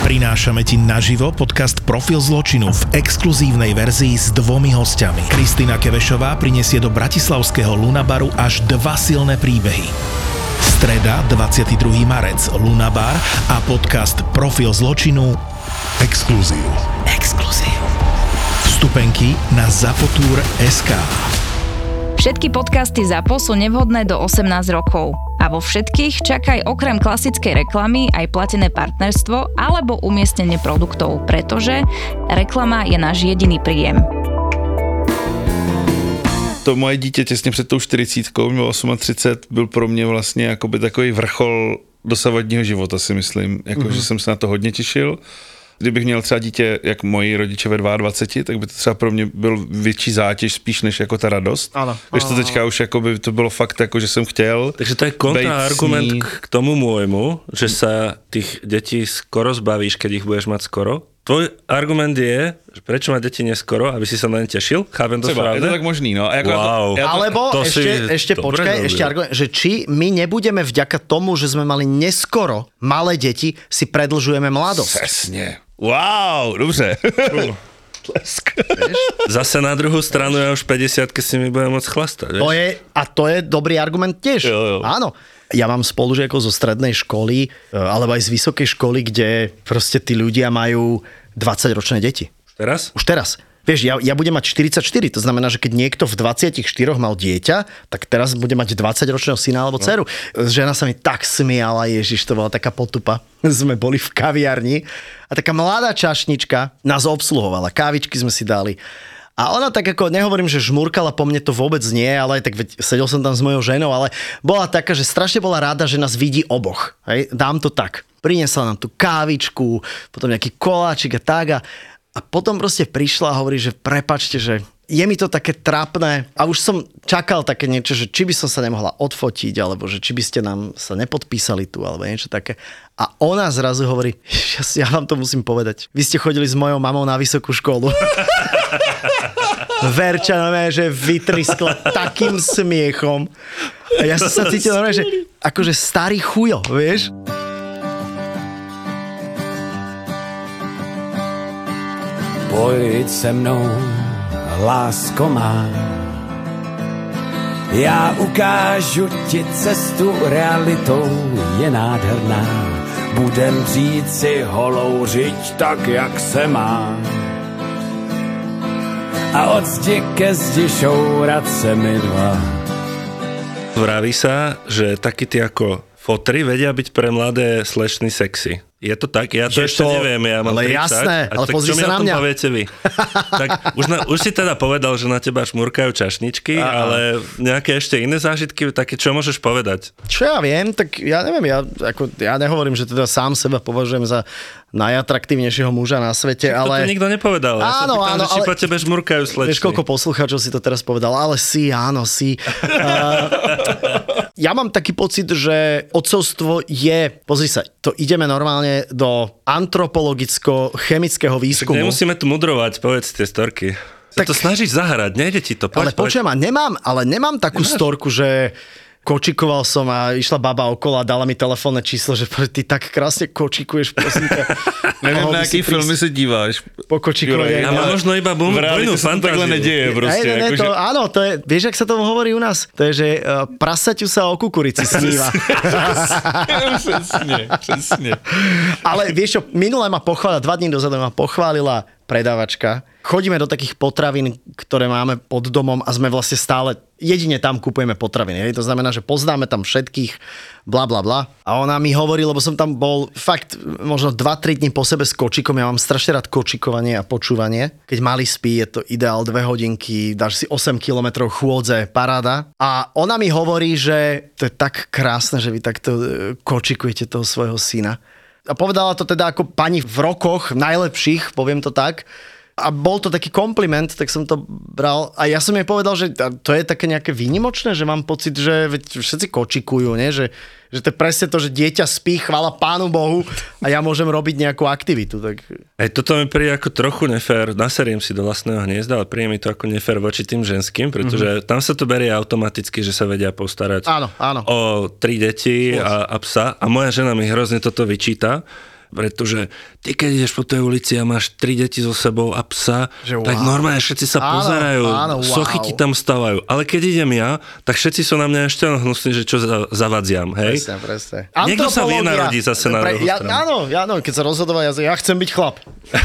Prinášame ti naživo podcast Profil zločinu v exkluzívnej verzii s 2 hostiami. Kristina Kevešová prinesie do bratislavského Lunabaru až 2 silné príbehy. Streda, 22. marec, Lunabar a podcast Profil zločinu Exkluzív. Vstupenky na zapotur.sk. Všetky podcasty ZAPO sú nevhodné do 18 rokov. A vo všetkých čakaj okrem klasickej reklamy aj platené partnerstvo alebo umiestnenie produktov, pretože reklama je náš jediný príjem. To moje dítě těsně před tou 40, mělo 38, byl pro mě vlastně jakoby takový vrchol dosavadního života, si myslím. Že jsem se na to hodně těšil. Kdybych měl třeba dítě, jak moji rodiče ve 22, tak by to třeba pro mě byl větší zátěž spíš než jako ta radost. Ano. Když to teďka už jakoby to bylo fakt jako, že jsem chtěl. Takže to je kontraargument k tomu môjmu, že sa tých detí skoro zbavíš, keď ich budeš mať skoro. Tvoj argument je, že prečo mať deti neskoro, aby si sa na ne tešil? Chápem to správne? Je to tak možný, no. Wow. Alebo ešte počkaj, ešte argument, že či my nebudeme vďaka tomu, že sme mali neskoro malé deti, si predlžujeme mladosť. Přesně. Wow, dobře. Tlesk. Zase na druhú stranu ja už 50-ky si mi budem môcť chlastať. To je dobrý argument tiež. Jo. Áno. Ja mám spolužiakov zo strednej školy, alebo aj z vysokej školy, kde proste tí ľudia majú 20-ročné deti. Teraz? Už teraz. Vieš, ja budem mať 44, to znamená, že keď niekto v 24 mal dieťa, tak teraz bude mať 20-ročného syna alebo dceru. Žena sa mi tak smiala, Ježiš, to bola taká potupa. Sme boli v kaviarni a taká mladá čašnička nás obsluhovala, kávičky sme si dali. A ona tak ako, nehovorím, že žmurkala po mne, to vôbec nie, ale tak veď sedel som tam s mojou ženou, ale bola taká, že strašne bola rada, že nás vidí oboch. Hej? Dám to tak. Priniesla nám tú kávičku, potom nejaký koláčik a tak a potom proste prišla a hovorí, že prepáčte, že je mi to také trápne a už som čakal také niečo, že či by som sa nemohla odfotiť, alebo že či by ste nám sa nepodpísali tu, alebo niečo také. A ona zrazu hovorí, ja vám to musím povedať, vy ste chodili s mojou mamou na vysokú školu. Verča, že vytriskla takým smiechom. A ja som sa cítil, že akože starý chujo, vieš? Pojď se mnou, lásko má, já ukážu ti cestu, realitou je nádherná. Budem žít si holou žiť tak, jak se má. A od zdi ke zdi šourat se mi dva. Vraví sa, že takí tí ako fotry vedia byť pre mladé slečny sexy. Je to tak? Ja to ešte neviem, ja mám 30. Jasné, ale pozri sa na mňa. Čo mi o tom poviete vy? Tak už si teda povedal, že na teba šmurkajú čašničky, ale nejaké ešte iné zážitky, také čo môžeš povedať? Čo ja viem, tak ja neviem, ja nehovorím, že teda sám seba považujem za najatraktívnejšieho muža na svete, ale... To nikto nepovedal. Ja sa pýtam, že či po tebe žmurkajú slečny. Vieš, koľko poslucháčov si to teraz povedal, ale áno. Ja mám taký pocit, že otcovstvo je, pozri sa, to ideme normálne do antropologicko-chemického výskumu. Tak nemusíme tu mudrovať, povedz tie storky. Tak to snažíš zahrať, nejde ti to. Ale počujem, nemám takú storku, že kočikoval som a išla baba okolo a dala mi telefónne číslo, že ty tak krásne kočikuješ, prosím ťa. Neviem, na aký filmy sa díváš. Po kočikovej. Ja mám možno iba bujnú fantáziu. Takhle nedieje proste. Áno, to je, vieš, ak sa tomu hovorí u nás? To je, že prasaťu sa o kukurici sníva. Přesne. Ale vieš čo, minule ma pochválila, 2 dní dozadu ma pochválila predávačka. Chodíme do takých potravín, ktoré máme pod domom a sme vlastne stále, jedine tam kupujeme potraviny. To znamená, že poznáme tam všetkých, bla bla bla. A ona mi hovorí, lebo som tam bol fakt možno 2-3 dní po sebe s kočikom. Ja mám strašne rád kočikovanie a počúvanie. Keď malý spí, je to ideál 2 hodinky, dáš si 8 kilometrov chôdze, paráda. A ona mi hovorí, že to je tak krásne, že vy takto kočikujete toho svojho syna. A povedala to teda ako pani v rokoch najlepších, poviem to tak. A bol to taký kompliment, tak som to bral. A ja som jej povedal, že to je také nejaké výnimočné, že mám pocit, že všetci kočikujú, nie? Že to je presne to, že dieťa spí, chvála Pánu Bohu a ja môžem robiť nejakú aktivitu. Tak... Toto mi príde ako trochu nefér. Naseriem si do vlastného hniezda, ale príde mi to ako nefér voči tým ženským, pretože tam sa to berie automaticky, že sa vedia postarať áno. o 3 deti a psa. A moja žena mi hrozne toto vyčíta, Pretože ty, keď ideš po tej ulici a máš 3 deti so sebou a psa, Že tak wow. normálne všetci sa pozerajú, áno, wow. sochy ti tam stavajú. Ale keď idem ja, tak všetci sú na mňa ešte hnusní, že čo zavadziam, hej? Presne. Niekto sa vie narodiť zase na druhú stranu. Áno, keď sa rozhodoval, ja chcem byť chlap.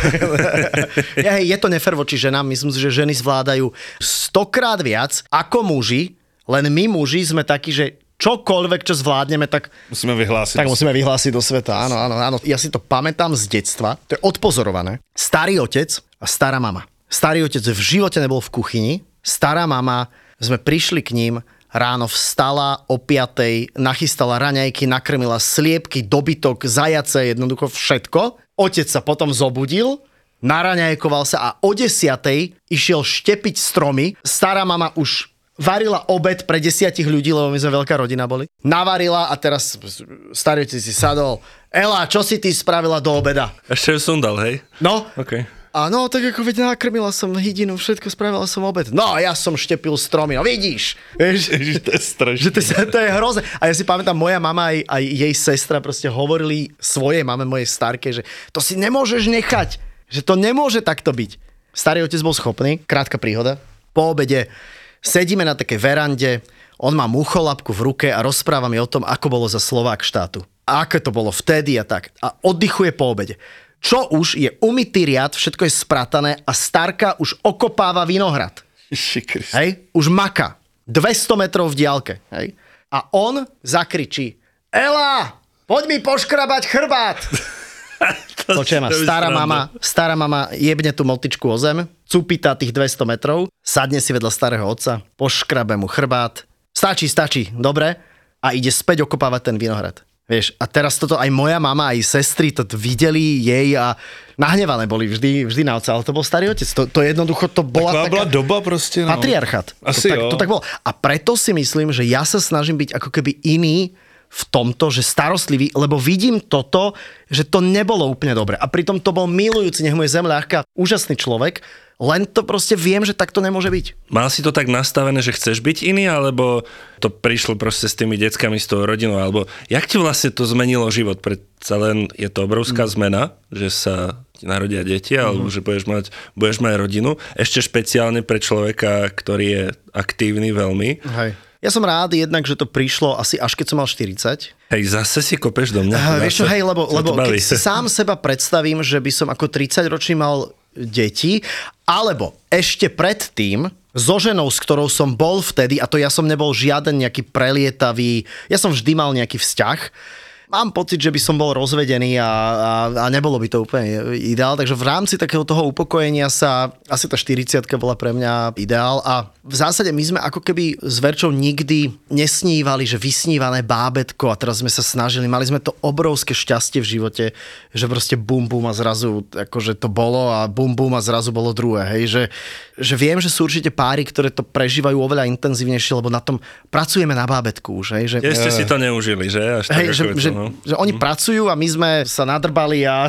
Je to nefér voči ženám, myslím si, že ženy zvládajú 100-krát viac ako muži, len my muži sme takí, že čokoľvek, čo zvládneme, tak Musíme vyhlásiť do sveta. Áno. Ja si to pamätám z detstva, to je odpozorované. Starý otec a stará mama. Starý otec v živote nebol v kuchyni, stará mama, sme prišli k ním, ráno vstala o 5:00, nachystala raňajky, nakrmila sliepky, dobytok, zajace, jednoducho všetko. Otec sa potom zobudil, naraňajkoval sa a o 10:00 išiel štepiť stromy. Stará mama už varila obed pre 10 ľudí, lebo my sme veľká rodina boli. Navarila a teraz starý otec si sadol. Ela, čo si ty spravila do obeda? Ešte ju som dal, hej? No. OK. A no, tak ako veď nakrmila som hydinu, všetko, spravila som obed. No, ja som štepil stromy, no vidíš. Vieš, To je strašné. to je hrozné. A ja si pamätám, moja mama aj jej sestra proste hovorili svojej mame, mojej starke, že to si nemôžeš nechať, že to nemôže takto byť. Starý otec bol schopný, krátka príhoda, po obede sedíme na takej verande, on má mucholapku v ruke a rozpráva mi o tom, ako bolo za Slovák štátu. A ako to bolo vtedy a tak. A oddychuje po obede. Čo už je umytý riad, všetko je spratané a starka už okopáva vinohrad. Hej? Už maka. 200 metrov v diaľke. Hej? A on zakričí: Ela, poď mi poškrabať chrbát. Počujem ma, stará mama jebne tú motičku o zem, cupita tých 200 metrov, sadne si vedľa starého otca, poškrabe mu chrbát. Stačí, dobre? A ide späť okopávať ten vinohrad. Vieš, a teraz toto aj moja mama, aj sestry to videli jej a nahnevané boli vždy na otca, ale to bol starý otec. To jednoducho, to bola taká doba proste, no. Patriarchát. Asi to tak bolo. A preto si myslím, že ja sa snažím byť ako keby iný v tomto, že starostlivý, lebo vidím toto, že to nebolo úplne dobre. A pritom to bol milujúci, nech mu je zem ľahká, úžasný človek, len to proste viem, že takto nemôže byť. Mal si to tak nastavené, že chceš byť iný, alebo to prišlo proste s tými deckami, s tou rodinou, alebo jak ti vlastne to zmenilo život? Predsa len je to obrovská zmena, že sa ti narodia deti, alebo že budeš mať rodinu. Ešte špeciálne pre človeka, ktorý je aktívny veľmi. Hej. Ja som rád jednak, že to prišlo asi až keď som mal 40. Hej, zase si kopeš do mňa. Vieš čo, hej, lebo keď si sám seba predstavím, že by som ako 30-ročný mal deti, alebo ešte predtým so ženou, s ktorou som bol vtedy, a to ja som nebol žiaden nejaký prelietavý, ja som vždy mal nejaký vzťah. Mám pocit, že by som bol rozvedený a nebolo by to úplne ideál, takže v rámci takého toho upokojenia sa asi tá 40-ka bola pre mňa ideál a v zásade my sme ako keby s Verčou nikdy nesnívali, že vysnívané bábätko a teraz sme sa snažili, mali sme to obrovské šťastie v živote, že proste bum bum a zrazu akože to bolo a bum bum a zrazu bolo druhé, hej, že viem, že sú určite páry, ktoré to prežívajú oveľa intenzívnejšie, lebo na tom pracujeme na bábätku už, hej, že... Ešte si to neužili, že? Až tak, že oni pracujú a my sme sa nadrbali a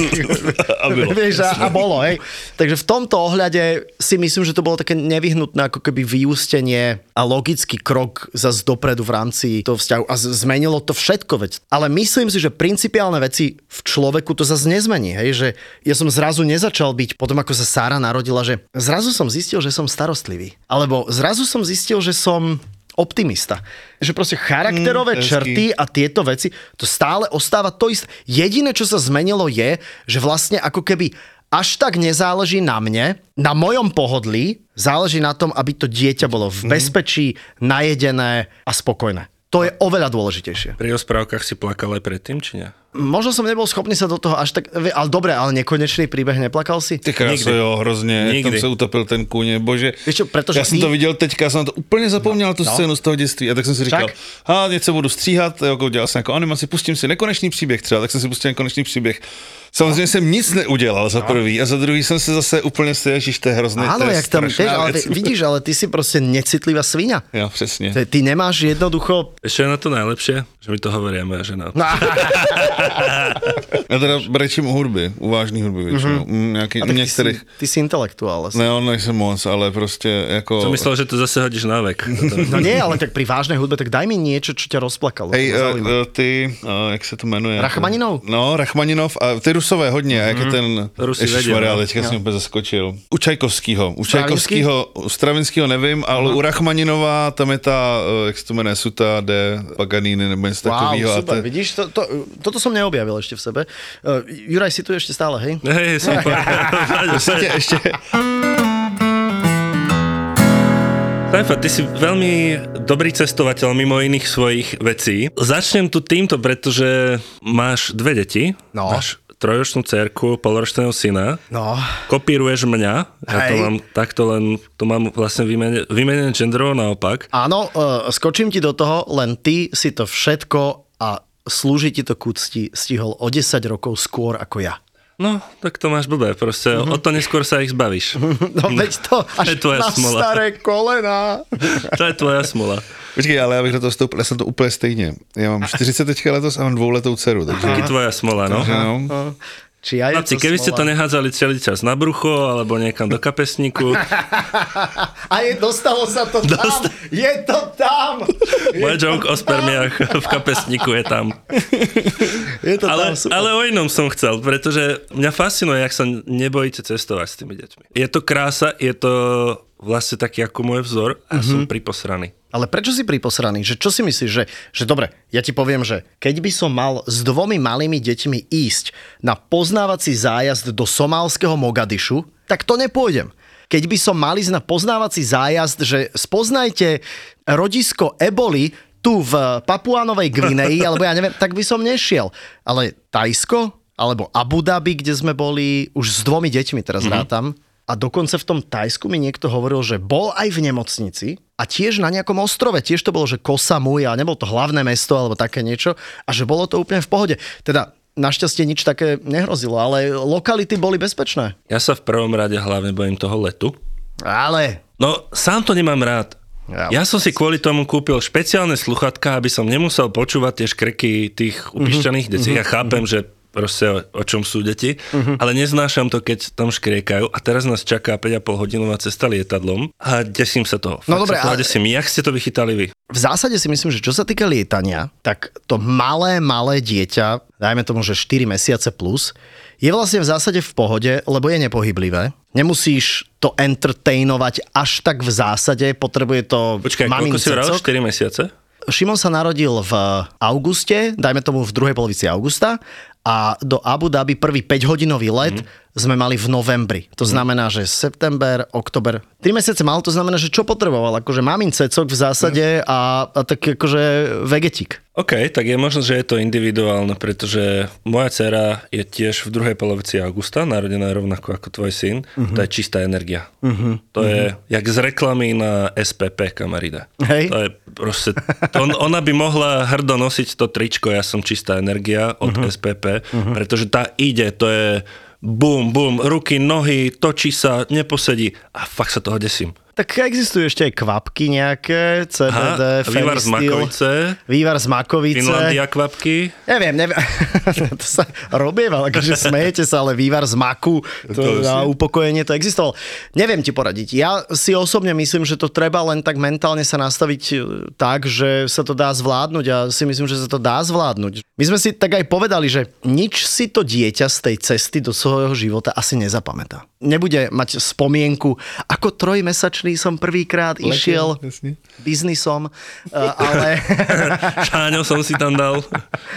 bolo, hej. Takže v tomto ohľade si myslím, že to bolo také nevyhnutné ako keby vyústenie a logický krok zase dopredu v rámci toho vzťahu a zmenilo to všetko, veď. Ale myslím si, že principiálne veci v človeku to zase nezmení, hej, že ja som zrazu nezačal byť potom, ako sa Sára narodila, že zrazu som zistil, že som starostlivý. Alebo zrazu som zistil, že som optimista. Že proste charakterové črty a tieto veci, to stále ostáva to isté. Jediné, čo sa zmenilo je, že vlastne ako keby až tak nezáleží na mne, na mojom pohodlí, záleží na tom, aby to dieťa bolo v bezpečí, najedené a spokojné. To je oveľa dôležitejšie. Pri rozprávkach si plakal aj predtým, či nie? Možno som nebol schopný sa do toho až tak... Ale dobre, ale nekonečný príbeh neplakal si? Ty kráso, jo, hrozně. Tam se utopil ten kůň, bože. Víš čo, pretože já jsem to viděl teďka, jsem na to úplně zapomněl, tu scénu z toho dětství. A tak jsem si říkal, něco budu stříhat, jako dělal jsem jako animaci, pustím si nekonečný příběh třeba, tak jsem si pustil nekonečný příběh. Samozřejmě jsem nic neudělal za prvý a za druhý jsem se zase úplně stěl, že to je hrozný. Áno, jak tam, vidíš, ale ty si proste necitlivá sviňa. Jo, přesně. Ty nemáš jednoducho... Ešte je na to najlepšie, že mi to hovoria moja žena. Já teda brečím u hudby, u vážný hudby většinou. Některých... Ty si intelektuál. Ne, on nejsem moc, ale prostě jako... Som myslel, že to zase hodíš na vek. No nie, ale tak pri vážnej hudbe, tak daj mi niečo, čo ťa rozplakalo. Hej, ty, jak se to jmenuje? Rachmaninov? No, Rachmaninov a ty Rusové hodně, jak je ten... Rusy Ježišmarja, teďka jsem úplně zaskočil. U Čajkovskýho, u Stravinskýho nevím, ale u Rachmaninova tam je ta, jak se to jmenuje, Suta de Paganini nebo něco takového. Wow, super, vidíš, toto som neobjavil ešte v sebe. Juraj, si tu ešte stále, hej? Hej, super. Ešte. Sajfa, ty si veľmi dobrý cestovateľ mimo iných svojich vecí. Začnem tu týmto, pretože máš 2 deti. No. Máš 3-ročnú dcerku, polročného syna. No. Kopíruješ mňa. Ja to Hej. mám takto len, to mám vlastne vymenené genderovo naopak. Áno, skočím ti do toho, len ty si to všetko a slúži ti to k úcti stihol o 10 rokov skôr ako ja. No, tak to máš blbé, proste o to neskôr sa ich zbavíš. No veď to až je tvoja na smola. staré kolena. To je tvoja smola. Počkej, ale já bych do toho vstoupil, já jsem to úplně stejně. Já mám 40 teďka letos a mám 2letou dceru, takže... Taky tvoja smola, no. No. Či ja je Chlapci, to keby ste to smola? nehádzali celý čas na brucho, alebo niekam do kapesníku. A dostalo sa to tam. Je to tam. Môj joke o spermiách v kapesníku je tam. Je to tam super. Ale o inom som chcel, pretože mňa fascinuje, jak sa nebojíte cestovať s tými deťmi. Je to krása, je to vlastne taký ako môj vzor a som priposraný. Ale prečo si priposraný? Že čo si myslíš? Že dobre, ja ti poviem, že keď by som mal s 2 malými deťmi ísť na poznávací zájazd do somálskeho Mogadišu, tak to nepôjdem. Keď by som mal ísť na poznávací zájazd, že spoznajte rodisko eboli tu v Papuánovej Gvineji, alebo ja neviem, tak by som nešiel. Ale Tajsko, alebo Abu Dhabi, kde sme boli už s 2 deťmi, teraz rátam, a dokonca v tom Tajsku mi niekto hovoril, že bol aj v nemocnici a tiež na nejakom ostrove, tiež to bolo, že Koh Samui a nebolo to hlavné mesto alebo také niečo a že bolo to úplne v pohode. Teda našťastie nič také nehrozilo, ale lokality boli bezpečné. Ja sa v prvom rade hlavne bojím toho letu. Ale... No, sám to nemám rád. Ja som si kvôli tomu kúpil špeciálne sluchatka, aby som nemusel počúvať tie škreky tých upišťaných detí. Ja chápem, že proste o čom sú deti, ale neznášam to, keď tam škriekajú a teraz nás čaká 5,5 hodinová cesta lietadlom a desím sa toho. No dobre, ale... desím. Jak ste to vychytali vy? V zásade si myslím, že čo sa týka lietania, tak to malé dieťa, dajme tomu, že 4 mesiace plus, je vlastne v zásade v pohode, lebo je nepohyblivé. Nemusíš to entertainovať až tak v zásade, potrebuje to Počkaj, mamin koľko si vral? cecok. 4 mesiace? Šimon sa narodil v auguste, dajme tomu v druhej polovici augusta a do Abu Dhabi prvý 5-hodinový let sme mali v novembri. To znamená, že september, október, 3 mesiace mal, to znamená, že čo potreboval? Akože mamin cecok v zásade a tak akože vegetík. OK, tak je možno, že je to individuálne, pretože moja dcera je tiež v druhej polovici augusta, narodená rovnako ako tvoj syn. To je čistá energia. To je jak z reklamy na SPP, kamarida. Hej. To je proste, ona by mohla hrdo nosiť to tričko, ja som čistá energia od SPP, pretože tá ide, to je bum, bum, ruky, nohy, točí sa, neposedí a fakt sa toho desím. Tak existujú ešte aj kvapky nejaké, CBD, Vývar z Makovice. Vývar z Makovice. Finlandia kvapky. Neviem. To sa robieval, akože smejete sa, ale vývar z maku, to na upokojenie to existoval. Neviem ti poradiť. Ja si osobne myslím, že to treba len tak mentálne sa nastaviť tak, že sa to dá zvládnuť a si myslím, že sa to dá zvládnuť. My sme si tak aj povedali, že nič si to dieťa z tej cesty do svojho života asi nezapamätá. Nebude mať spomienku, ako 3-mesačný som prvýkrát išiel biznisom, ale... Šáňo som si tam dal.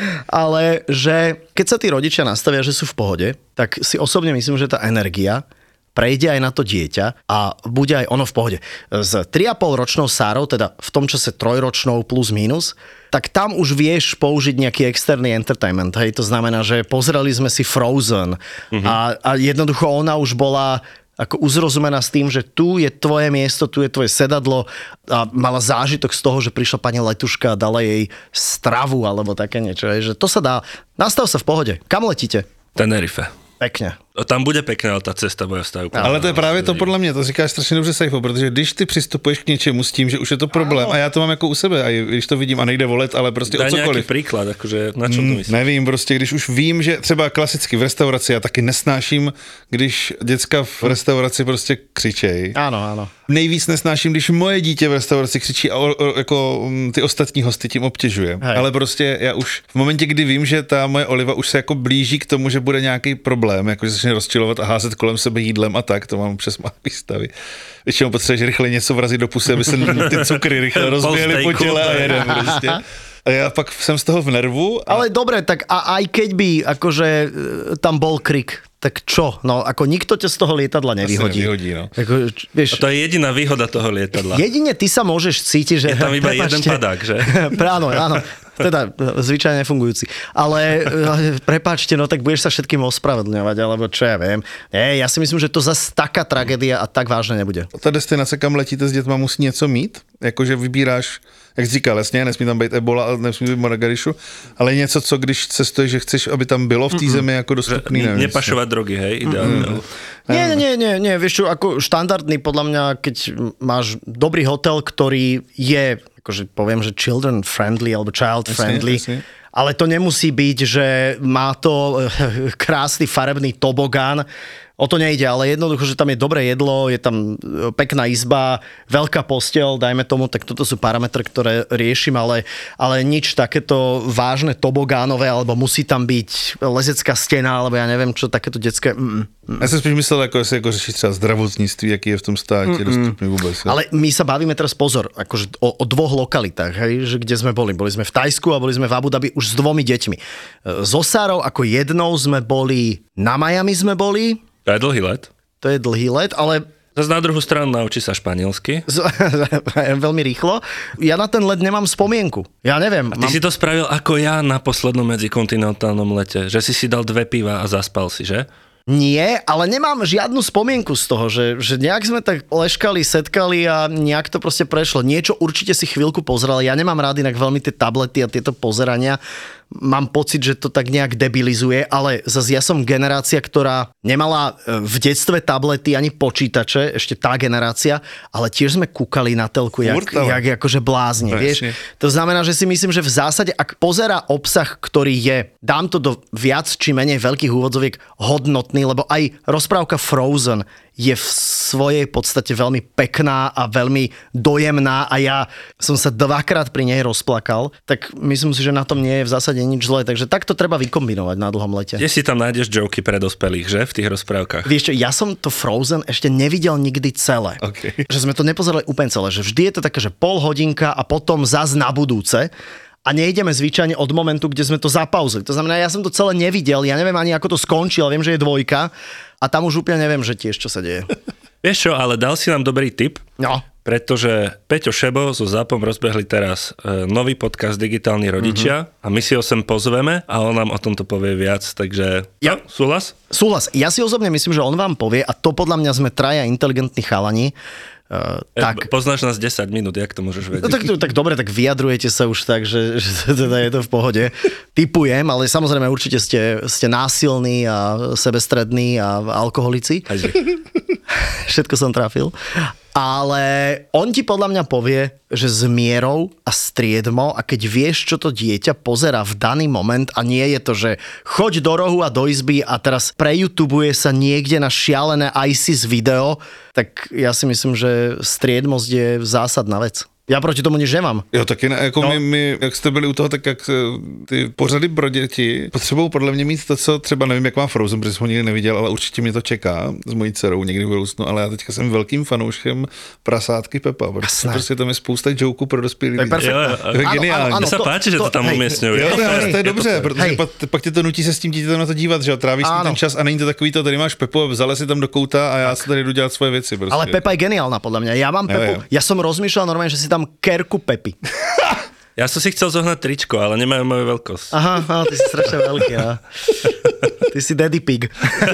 Ale že keď sa tí rodičia nastavia, že sú v pohode, tak si osobne myslím, že tá energia prejde aj na to dieťa a bude aj ono v pohode. S 3,5 ročnou Sárou, teda v tom čase 3-ročnou plus minus, tak tam už vieš použiť nejaký externý entertainment. Hej? To znamená, že pozreli sme si Frozen a jednoducho ona už bola ako uzrozumená s tým, že tu je tvoje miesto, tu je tvoje sedadlo a mala zážitok z toho, že prišla pani letuška a dala jej stravu alebo také niečo. Že to sa dá. Nastav sa v pohode. Kam letíte? Tenerife. Pekne. Tam bude pekné, ale tá cesta bude stále. Ale to je právě to podle mě, to říkáš strašně dobře, Saifo, protože když ty přistupuješ k něčemu s tím, že už je to problém, a já to mám jako u sebe, a když to vidím a nejde volet, ale prostě o cokoliv. Daj nějaký příklad, jakože na čem to myslíš? Nevím, prostě když už vím, že třeba klasicky v restauraci, já taky nesnáším, když děcka v restauraci prostě křičej. Áno. Nejvíc nesnáším, když moje dítě v restauraci křičí a jako ty ostatní hosty tím obtěžuje. Hej. Ale prostě já už v momentě, kdy vím, že ta moje Oliva už se jako blíží k tomu, že bude nějaký problém, jako že začne rozčilovat a házet kolem sebe jídlem a tak, to mám přes malý výstavy. Většinou potřebuješ rychle něco vrazit do pusy, aby se ty cukry rychle rozběhly po těle a jedem prostě. A ja pak jsem z toho v nervu. Ale dobre, tak aj keď by akože tam bol krik, tak čo? No, ako nikto ťa z toho lietadla nevyhodí. Nevyhodí, no. Ako, vieš, A to je jediná výhoda toho lietadla. jedine ty sa môžeš cítiť, že... Je tam iba jeden padák, že? Áno. Teda zvyčajne nefungujúci. Ale prepáčte, no tak budeš sa všetkým ospravedlňovať, alebo čo ja viem. Nie, ja si myslím, že to zase taká tragédia a tak vážne nebude. Ta destinace, kam letíte s dětma, musí něco mít, jakože vybíráš, jak jsi říkal, jasně, nesmí tam být Ebola, ale nesmí být Margarišu, ale něco, co když cestuješ, že chceš, aby tam bylo v té zemi jako dostupný. Nepašovať drogy, hej? Ideálne. Nie, vieš čo, ako štandardný podľa mňa, keď máš dobrý hotel, ktorý je, akože poviem, že children friendly alebo child friendly, Jasne. ale to nemusí byť, že má to krásny farebný tobogán. O to nejde, ale jednoducho, že tam je dobré jedlo, je tam pekná izba, veľká posteľ, dajme tomu, tak toto sú parametre, ktoré riešim, ale nič takéto vážne tobogánové, alebo musí tam byť lezecká stena, alebo ja neviem, čo takéto detské... Já jsem spíš myslel, jako jestli jako řešit třeba zdravotnictví, jaký je v tom státě dostupný vůbec. Ale my sa bavíme teraz, pozor, akože o dvoch lokalitách, hej, že kde sme boli. Boli sme v Tajsku a boli sme v Abu Dhabi už s 2 deťmi. So Sárou ako jednou sme boli, na Miami sme boli. To je dlhý let. To je dlhý let, ale Zas na druhú stranu naučí sa španielsky. veľmi rýchlo. Ja na ten let nemám spomienku. Ja neviem. Ty si to spravil ako ja na poslednom medzikontinentálnom lete, že si dal 2 piva a zaspal si, že? Nie, ale nemám žiadnu spomienku z toho, že nejak sme tak leškali, setkali a nejak to proste prešlo. Niečo určite si chvíľku pozeral. Ja nemám rád inak veľmi tie tablety a tieto pozerania. Mám pocit, že to tak nejak debilizuje, ale zase ja som generácia, ktorá nemala v detstve tablety ani počítače, ešte tá generácia, ale tiež sme kúkali na telku jak akože blázni, vieš. To znamená, že si myslím, že v zásade, ak pozerá obsah, ktorý je, dám to do viac či menej veľkých úvodzoviek, hodnotný, lebo aj rozprávka Frozen je v svojej podstate veľmi pekná a veľmi dojemná a ja som sa 2-krát pri nej rozplakal, tak myslím si, že na tom nie je v zásade nič zlé, takže takto treba vykombinovať na dlhom lete. Kde si tam nájdeš joky pre dospelých, že? V tých rozprávkach. Vieš čo, ja som to Frozen ešte nevidel nikdy celé. Okay. Že sme to nepozerali úplne celé, že vždy je to také, že pol hodinka a potom zas na budúce. A nejdeme zvyčajne od momentu, kde sme to zapauzili. To znamená, ja som to celé nevidel, ja neviem ani ako to skončí, ale viem, že je 2 a tam už úplne neviem, že tiež čo sa deje. Vieš čo, ale dal si nám dobrý tip, No. pretože Peťo Šebo so Zápom rozbehli teraz nový podcast Digitálni rodičia a my si ho sem pozveme a on nám o tomto povie viac, takže Ja. Súhlas? Súhlas. Ja si osobne myslím, že on vám povie, a to podľa mňa sme traja inteligentní chalani, tak... Poznáš nás 10 minút, jak to môžeš vedieť? No tak dobre, tak vyjadrujete sa už tak, že teda je to v pohode. Tipujem, ale samozrejme určite ste násilní a sebestrední a alkoholici. Všetko som trafil. Ale on ti podľa mňa povie, že s mierou a striedmo a keď vieš, čo to dieťa pozerá v daný moment a nie je to, že choď do rohu a do izby a teraz preyoutubuje sa niekde na šialené ISIS video, tak ja si myslím, že striedmosť je zásadná vec. Já proti tomu nič nemám. Jo, taky ne, jako no. my, jak jste byli u toho, tak jak ty pořady pro děti potřebují podle mě mít to, co třeba nevím, jak má Frozen, protože jsem ho nikdy neviděl, ale určitě mě to čeká s mojí dcerou někdy v budoucnu, ale já teďka jsem velkým fanouškem Prasátky Pepa, protože prostě tam je spousta joků pro dospělí. To je geniální. Mně se páči, že to tam umiestňují. Jo, to je dobře, protože pak tě to nutí se s tím dítětem na to dívat, že jo, trávíš si ten čas a není to takový to, tady máš Pepu, vzala si tam do kouta a já si tady jdu dělat svoje věci. Prostě. Ale Pepa je geniálna podľa mňa. Ja mám Pepu, ja som rozmýšľal normálne, že si tam kerku Pepy. Ja som si chcel zohnať tričko, ale nemajú moju veľkosť. Aha, ty si strašne veľký, ja. Ty si daddy pig.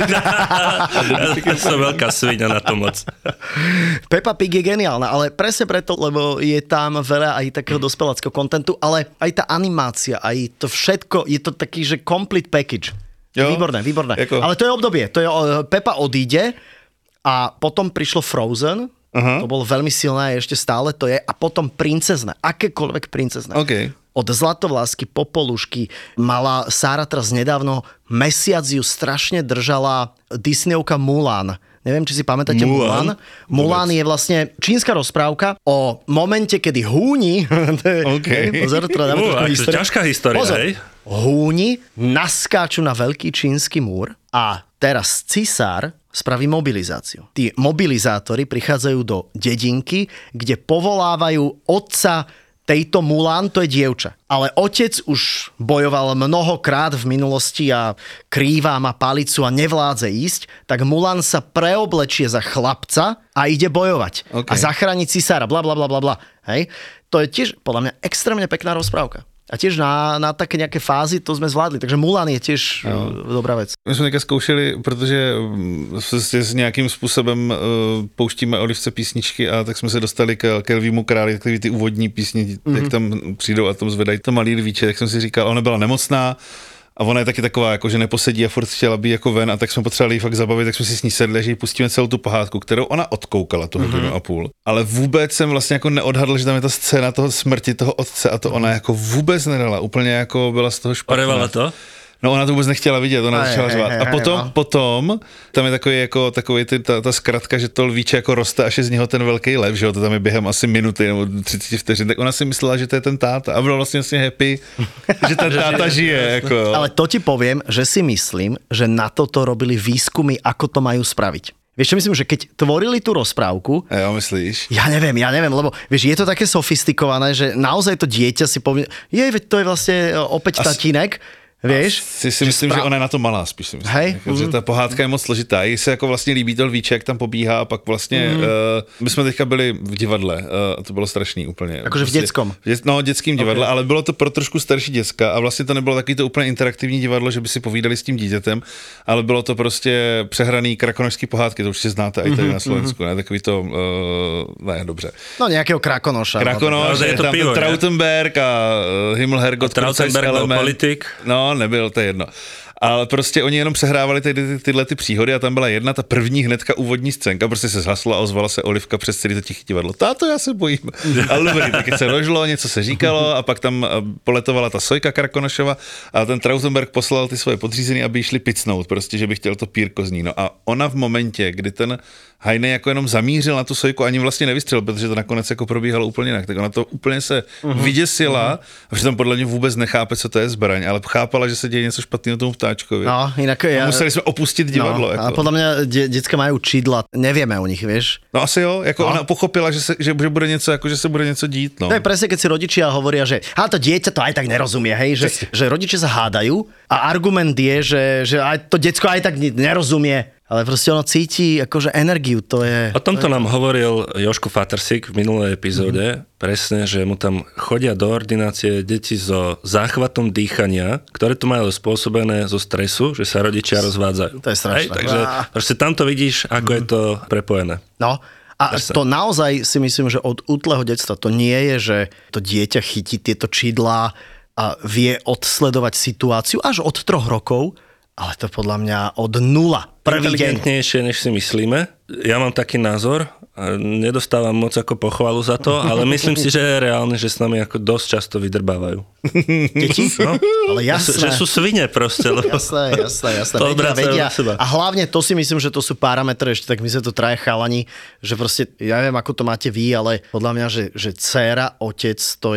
Ja som veľká sviňa na to moc. Peppa Pig je geniálna, ale presne preto, lebo je tam veľa aj takého dospeláckého kontentu, ale aj tá animácia, aj to všetko, je to taký, že complete package. Jo? Výborné. Jako... Ale to je obdobie. Pepa odíde a potom prišlo Frozen. To bolo veľmi silné, ešte stále to je. A potom princezné. Akékoľvek princezné. Okay. Od Zlatovlásky, Popolušky mala Sára teraz nedávno, mesiac ju strašne držala Disneyovka Mulan. Neviem, či si pamätáte Mulan. Mulan je vlastne čínska rozprávka o momente, kedy húni... Pozor, teda dáme trošku históriu. Ťažká história, hej? Húni naskáču na veľký čínsky múr a teraz cisár spraví mobilizáciu. Tí mobilizátori prichádzajú do dedinky, kde povolávajú otca tejto Mulan, to je dievča. Ale otec už bojoval mnohokrát v minulosti a krýva, má palicu a nevládze ísť, tak Mulan sa preoblečie za chlapca a ide bojovať. A zachráni cisára, blablabla. Hej? To je tiež podľa mňa extrémne pekná rozprávka. A tiež na také nejaké fázy to sme zvládli. Takže Mulan je tiež dobrá vec. My jsme teďka zkoušeli, protože s nějakým způsobem pouštíme Olivce písničky a tak jsme se dostali k Lvímu králi, takový ty úvodní písně, jak tam přijdou a tam zvedají to malý lvíče, tak jsem si říkal, ona byla nemocná, a ona je taky taková, jako, že neposedí a furt chtěla být jako ven a tak jsme potřebovali jí fakt zabavit, tak jsme si s ní sedli, že jí pustíme celou tu pohádku, kterou ona odkoukala tu hodinu a půl. Ale vůbec jsem vlastně jako neodhadl, že tam je ta scéna toho smrti toho otce a to ona jako vůbec nedala, úplně jako byla z toho špatná. Orevala to? No ona to vůbec nechtěla vidět, ona začala řvát. A potom tam je takový ta zkratka, že to lvíče jako roste, až je z něho ten velký lev, že jo, to tam je během asi minuty nebo 30 vteřin, tak ona si myslela, že to je ten táta a byla vlastně happy, že ten táta žije. Jako. Ale to ti poviem, že si myslím, že na toto robili výskumy, ako to majú spraviť. Vieš čo myslím, že keď tvorili tú rozprávku... Jo, myslíš? Ja neviem, lebo vieš, je to také sofistikované, že naozaj to dieťa si povie, veď to je vlastne opäť tatínek. Vieš? Si myslím, že ona je na to malá, spíš si myslím. Hej? Že ta pohádka je moc složitá. Jí se jako vlastně líbí to lvíče, jak tam pobíhá a pak vlastně, my jsme teďka byli v divadle, to bylo strašný úplně. Jakože v dětskom. Dětským divadle, ale bylo to pro trošku starší děcka a vlastně to nebylo takový to úplně interaktivní divadlo, že by si povídali s tím dítětem, ale bylo to prostě přehraný krakonošský pohádky, to určitě znáte i tady na Slovensku, ne? Takový to, ne, dobře. No nějakého Krakonoša. Krakonoš, je tam pivo, Trautenberg a Himmelherrgott. Trautenberg byl politik. No, nebyl, to je jedno. Ale prostě oni jenom přehrávali tyhle ty příhody a tam byla jedna, ta první hnedka úvodní scénka, prostě se zhasla a ozvala se Olivka přes celý to tiché divadlo. Táto, já se bojím. Ale dobrý, taky se rožlo, něco se říkalo a pak tam poletovala ta Sojka Krakonošova a ten Trautenberg poslal ty svoje podřízený, aby šli picnout, prostě, že by chtěl to pírko z ní. No a ona v momentě, kdy ten Hajnej jako jenom zamířil na tu Sojku, ani vlastně nevystřelil, protože to nakonec jako probíhalo úplně jinak. Tak ona to úplně se vyděsila, a přitom podle mě vůbec nechápe, co to je zbraň, ale chápala, že se děje něco špatného tomu ptáčkovi. No, inak museli jsme opustit divadlo. No, a podle mě děcka mají čidla, nevíme o nich, víš? No asi jo, jako ona pochopila, že bude něco, jako že se bude něco dít, no. To je presne, keď si rodičia hovoria, že to dieťa to aj tak nerozumie, hej, že rodičia sa hádajú a argument je, že aj to decko aj tak nerozumie. Ale proste ono cíti akože energiu, to je... O tomto nám hovoril Jožko Fatersík v minulej epizóde, presne, že mu tam chodia do ordinácie deti so záchvatom dýchania, ktoré tu majú spôsobené zo stresu, že sa rodičia rozvádzajú. To je strašné. Takže proste tam to vidíš, ako je to prepojené. No, a to naozaj si myslím, že od útleho detstva to nie je, že to dieťa chytí tieto čidlá a vie odsledovať situáciu až od 3 rokov, ale to podľa mňa od 0. Inteligentnejšie, než si myslíme. Ja mám taký názor, a nedostávam moc ako pochvalu za to, ale myslím si, že je reálne, že s nami ako dosť často vydrbávajú. Deti? No, ale jasné. Že sú svine proste. Jasné. Vedia. A hlavne to si myslím, že to sú parametre, ešte tak my sa to traja chalani, že proste, ja neviem, ako to máte vy, ale podľa mňa, že dcéra, otec, to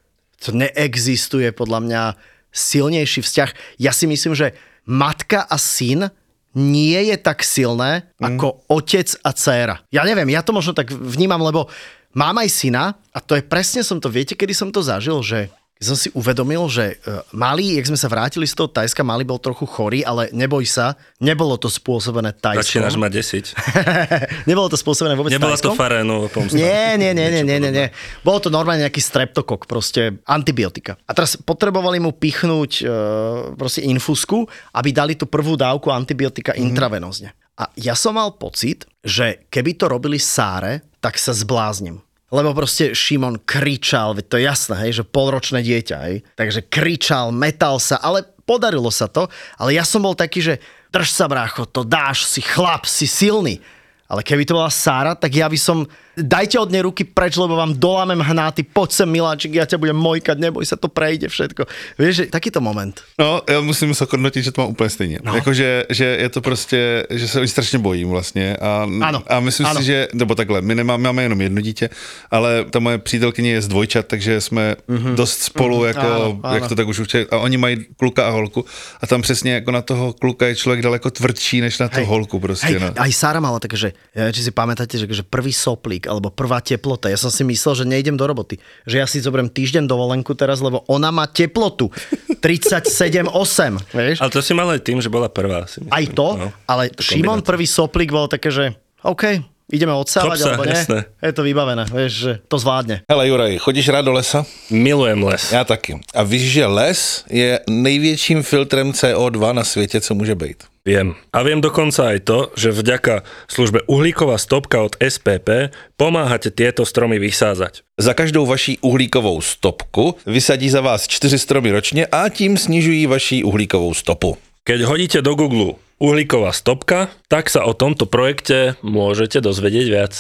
neexistuje podľa mňa silnejší vzťah. Ja si myslím, že matka a syn nie je tak silné ako otec a dcéra. Ja neviem, ja to možno tak vnímam, lebo mám aj syna a to je presne viete, kedy som to zažil, že som si uvedomil, že malý, jak sme sa vrátili z toho Tajska, malý bol trochu chorý, ale neboj sa, nebolo to spôsobené Tajskom. Začínaš ma desiť. Nebolo to spôsobené vôbec Nebola Tajskom. To farénová pomsta. Nie. Bolo to normálne nejaký streptokok, proste antibiotika. A teraz potrebovali mu pichnúť proste infusku, aby dali tú prvú dávku antibiotika intravenózne. A ja som mal pocit, že keby to robili Sáre, tak sa zblázním. Lebo proste Šimon kričal, veď to je jasné, hej, že polročné dieťa, hej. Takže kričal, metal sa, ale podarilo sa to, ale ja som bol taký, že drž sa, brácho, to dáš, si chlap, si silný. Ale keby to bola Sára, tak ja by som... Dajte od nej ruky preč, lebo vám dolámem hnáty, poď sem, miláčik, ja ťa budem mojkať, neboj sa, to prejde všetko. Vieš, že takýto moment. No, já musím se hodnotit, že to mám úplně stejně. No. Jakože, že je to prostě, že se strašně bojím vlastně. A myslím si, že, nebo takhle, my máme jenom jedno dítě, ale ta moje přítelkyně je z dvojčat, takže jsme dost spolu, jako, jak to tak už určitě, a oni mají kluka a holku a tam přesně jako na toho kluka je člověk daleko tvrdší, než na tu holku prostě. Hej, no. Aj Sára mala také, že, či si pamätáte, že prvý soplík, alebo prvá teplota. Ja som si myslel, že nejdem do roboty. Že ja si zoberiem týždeň dovolenku teraz, lebo ona má teplotu 37,8. Vieš? Ale to si mal aj tým, že bola prvá. Si myslím. Aj to, no, ale Šimon prvý soplík bol také, že OK, ideme odsávať, alebo nie? Jasné. Je to vybavené, vieš, že to zvládne. Hele Juraj, chodíš rád do lesa? Milujem les. Já taky. A víš, že les je největším filtrem CO2 na světě, co může být? Viem. A viem dokonca aj to, že vďaka službe Uhlíková stopka od SPP pomáhate tieto stromy vysázať. Za každou vaší uhlíkovou stopku vysadí za vás 4 stromy ročně a tím snižují vaši uhlíkovou stopu. Keď hodíte do Google Uhlíková stopka, tak sa o tomto projekte môžete dozvedieť viac.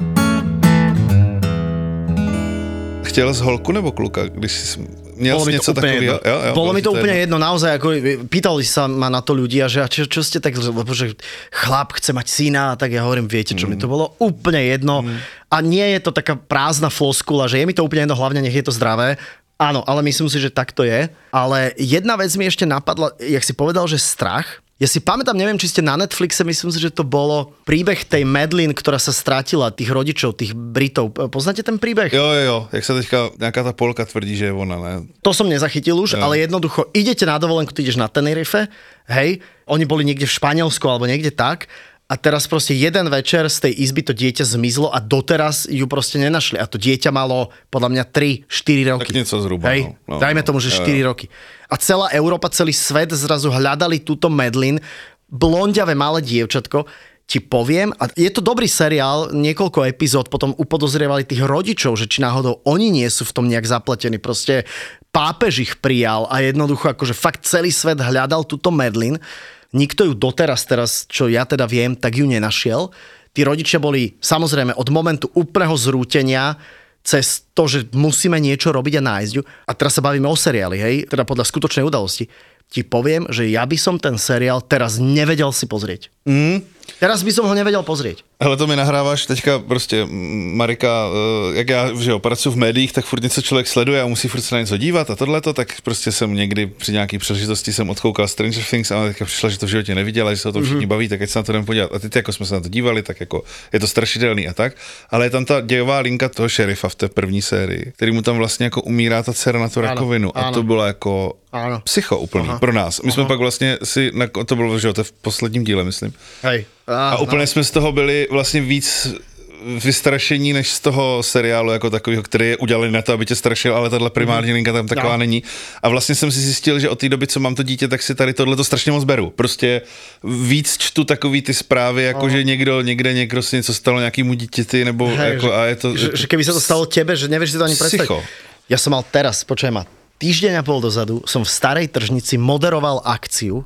Chtěl jsi holku nebo kluka, když jsi měl jsi něco takového? Bolo mi to úplne jedno, naozaj, ako pýtali sa ma na to ľudia, že čo ste tak, lebo že chlap chce mať syna, tak ja hovorím, viete čo, mi to bolo úplne jedno a nie je to taká prázdna floskula, že je mi to úplne jedno, hlavne nech je to zdravé. Áno, ale myslím si, že tak to je. Ale jedna vec mi ešte napadla, jak si povedal, že strach. Ja si pamätám, neviem, či ste na Netflixe, myslím si, že to bolo príbeh tej Madeleine, ktorá sa strátila, tých rodičov, tých Britov. Poznáte ten príbeh? Jo, jak sa teďka nejaká tá Polka tvrdí, že je ona, ne? To som nezachytil už, ale jednoducho idete na dovolenku, ty ideš na Tenerife, hej, oni boli niekde v Španielsku alebo niekde tak a teraz proste jeden večer z tej izby to dieťa zmizlo a doteraz ju proste nenašli. A to dieťa malo podľa mňa 3-4 roky. Tak niečo zhruba. Hej, dajme tomu, že 4 roky. A celá Európa, celý svet zrazu hľadali túto Madeleine, blondiavé malé dievčatko, ti poviem, a je to dobrý seriál, niekoľko epizód potom upodozrievali tých rodičov, že či náhodou oni nie sú v tom nejak zapletení, proste pápež ich prijal a jednoducho akože fakt celý svet hľadal túto Madeleine. Nikto ju doteraz, čo ja teda viem, tak ju nenašiel. Tí rodičia boli samozrejme od momentu úplného zrútenia cez to, že musíme niečo robiť a nájsť ju. A teraz sa bavíme o seriáli, hej, teda podľa skutočnej udalosti. Ti poviem, že ja by som ten seriál teraz nevedel si pozrieť. Teraz by som ho nevedel pozrieť. Hele, to mi nahráváš teďka prostě Marika, jak já, že jo, pracuji v médiích, tak furt něco člověk sleduje a musí furt se na něco dívat a tohleto, tak prostě jsem někdy při nějaký příležitosti jsem odkoukal Stranger Things a teďka přišla, že to v životě neviděla, že se o tom všichni baví, tak ať se na to jdem podívat. A teď jako jsme se na to dívali, tak jako je to strašidelný a tak, ale je tam ta dějová linka toho šerifa v té první sérii, který mu tam vlastně jako umírá ta dcera na tu rakovinu a to bylo jako psycho úplný pro nás. My jsme pak vlastně si, to bylo, že jo, to v posledním díle, myslím. Hej. A úplně jsme z toho byli vlastně víc vystrašení než z toho seriálu jako takového, který je udělaný na to, aby tě strašil, ale tahle primární linka tam taková není. A vlastně jsem si zjistil, že od té doby, co mám to dítě, tak si tady tohleto strašně moc beru. Prostě víc čtu takový ty zprávy, jako že někdo si něco stalo nějakýmu dítěti, nebo hej, jako, a je to... Že keby sa to stalo tebe, že nevieš si to ani predstaviť. Ja som mal teraz, počujem ma, týždeň a pol dozadu som v Starej tržnici moderoval akciu,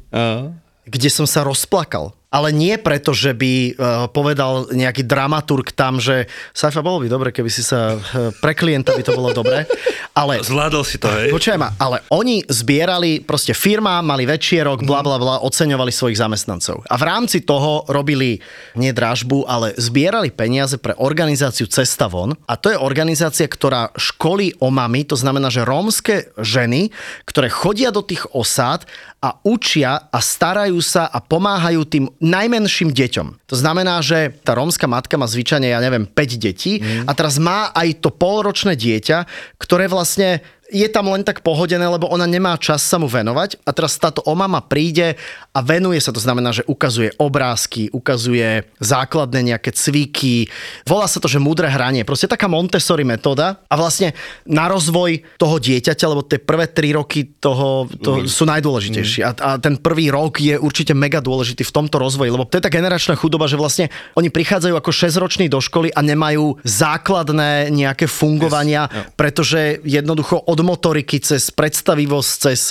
kde som sa rozplakal. Ale nie preto, že by povedal nejaký dramaturg tam, že Saifa, bolo by dobre, keby si sa pre klienta by to bolo dobre. Ale zvládol si to, hej? Počujem ma, ale oni zbierali, proste firma, mali večierok, blablabla, oceňovali svojich zamestnancov. A v rámci toho robili nie dražbu, ale zbierali peniaze pre organizáciu Cesta von. A to je organizácia, ktorá školí omamy, to znamená, že rómske ženy, ktoré chodia do tých osád a učia a starajú sa a pomáhajú tým najmenším deťom. To znamená, že tá rómska matka má zvyčajne, ja neviem, 5 detí a teraz má aj to polročné dieťa, ktoré vlastne je tam len tak pohodené, lebo ona nemá čas sa mu venovať a teraz táto omama príde a venuje sa, to znamená, že ukazuje obrázky, ukazuje základné nejaké cviky, volá sa to, že múdre hranie, proste taká Montessori metóda a vlastne na rozvoj toho dieťaťa, lebo tie prvé 3 roky toho sú najdôležitejšie a ten prvý rok je určite mega dôležitý v tomto rozvoji, lebo to je tá generačná chudoba, že vlastne oni prichádzajú ako 6-roční do školy a nemajú základné nejaké fungovania, pretože jednoducho od motoriky cez predstavivosť, cez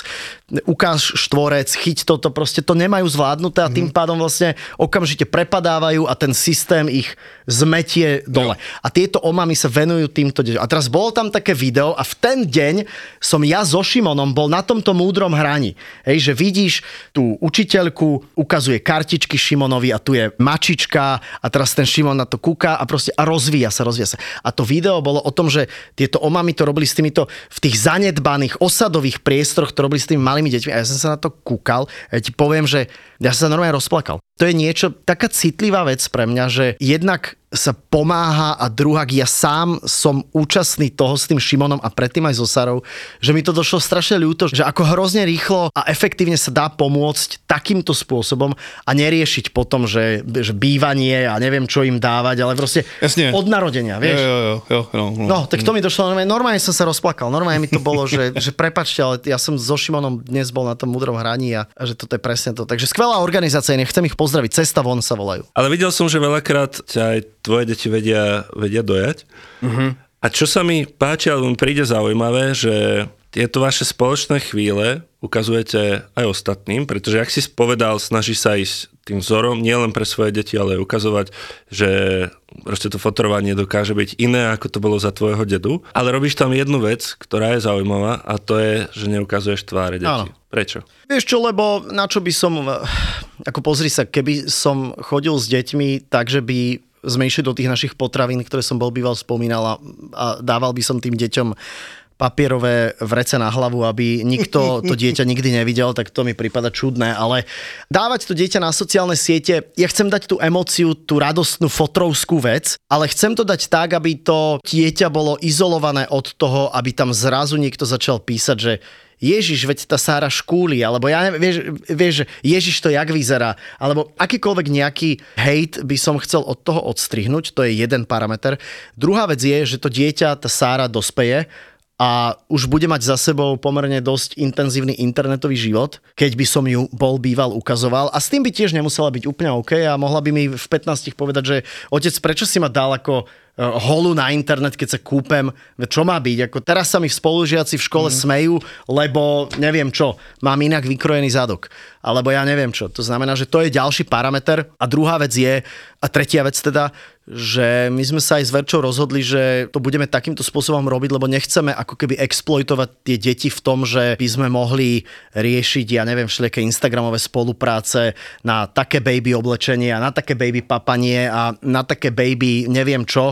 ukáž štvorec, chyť toto, proste to nemajú zvládnuté a tým pádom vlastne okamžite prepadávajú a ten systém ich zmetie dole. A tieto omamy sa venujú týmto deťom. A teraz bolo tam také video a v ten deň som ja so Šimonom bol na tomto múdrom hraní. Hej, že vidíš tú učiteľku, ukazuje kartičky Šimonovi a tu je mačička a teraz ten Šimon na to kúka a proste a rozvíja sa. A to video bolo o tom, že tieto omamy to robili s týmito v tých zanedbaných osadových priestoroch, to robili s tými malými deťmi a ja som sa na to kúkal a ja ti poviem, že ja som sa normálne rozplakal. To je niečo, taká citlivá vec pre mňa, že jednak sa pomáha a druhák ja sám som účastný toho s tým Šimonom a predtým aj so Sarou, že mi to došlo strašne ľúto, že ako hrozne rýchlo a efektívne sa dá pomôcť takýmto spôsobom a neriešiť potom, že bývanie a neviem čo im dávať, ale proste Jasne. od narodenia, vieš. Jo, No, tak to mi došlo, normálne som sa rozplakal, normálne mi to bolo, že prepáčte, ale ja som so Šimonom dnes bol na tom múdrom hraní a že toto je presne to. Takže skvelá organizácia, nechcem ich pozdraviť, Cesta von sa volajú. Ale videl som, že veľakrát ťa aj tvoje deti vedia dojať. A čo sa mi páči, alebo mi príde zaujímavé, že tieto vaše spoločné chvíle ukazujete aj ostatným, pretože ak si povedal, snaží sa ísť tým vzorom, nielen pre svoje deti, ale aj ukazovať, že proste to fotrovanie dokáže byť iné, ako to bolo za tvojho dedu. Ale robíš tam jednu vec, ktorá je zaujímavá a to je, že neukazuješ tváre detí. Áno. Prečo? Vieš čo, lebo na čo by som, ako pozri sa, keby som chodil s deťmi tak, že by sme išli do tých našich potravín, ktoré som býval spomínal a dával by som tým deťom papierové vrece na hlavu, aby nikto to dieťa nikdy nevidel, tak to mi prípada čudné, ale dávať to dieťa na sociálne siete, ja chcem dať tú emóciu, tú radostnú fotrovskú vec, ale chcem to dať tak, aby to dieťa bolo izolované od toho, aby tam zrazu niekto začal písať, že Ježiš, veď tá Sára škúli, alebo ja neviem, vieš, Ježiš to jak vyzerá, alebo akýkoľvek nejaký hejt by som chcel od toho odstrihnúť, to je jeden parameter. Druhá vec je, že to dieťa, tá Sára dospeje a už bude mať za sebou pomerne dosť intenzívny internetový život, keď by som ju býval ukazoval. A s tým by tiež nemusela byť úplne OK a mohla by mi v 15 povedať, že otec, prečo si ma dal ako holu na internet, keď sa kúpem, čo má byť? Ako teraz sa mi spolužiaci v škole smejú, lebo neviem čo, mám inak vykrojený zadok. Alebo ja neviem čo. To znamená, že to je ďalší parameter. A druhá vec je, a tretia vec teda, že my sme sa aj s Verčou rozhodli, že to budeme takýmto spôsobom robiť, lebo nechceme ako keby exploitovať tie deti v tom, že by sme mohli riešiť, ja neviem, všelijaké instagramové spolupráce na také baby oblečenie a na také baby papanie a na také baby neviem čo,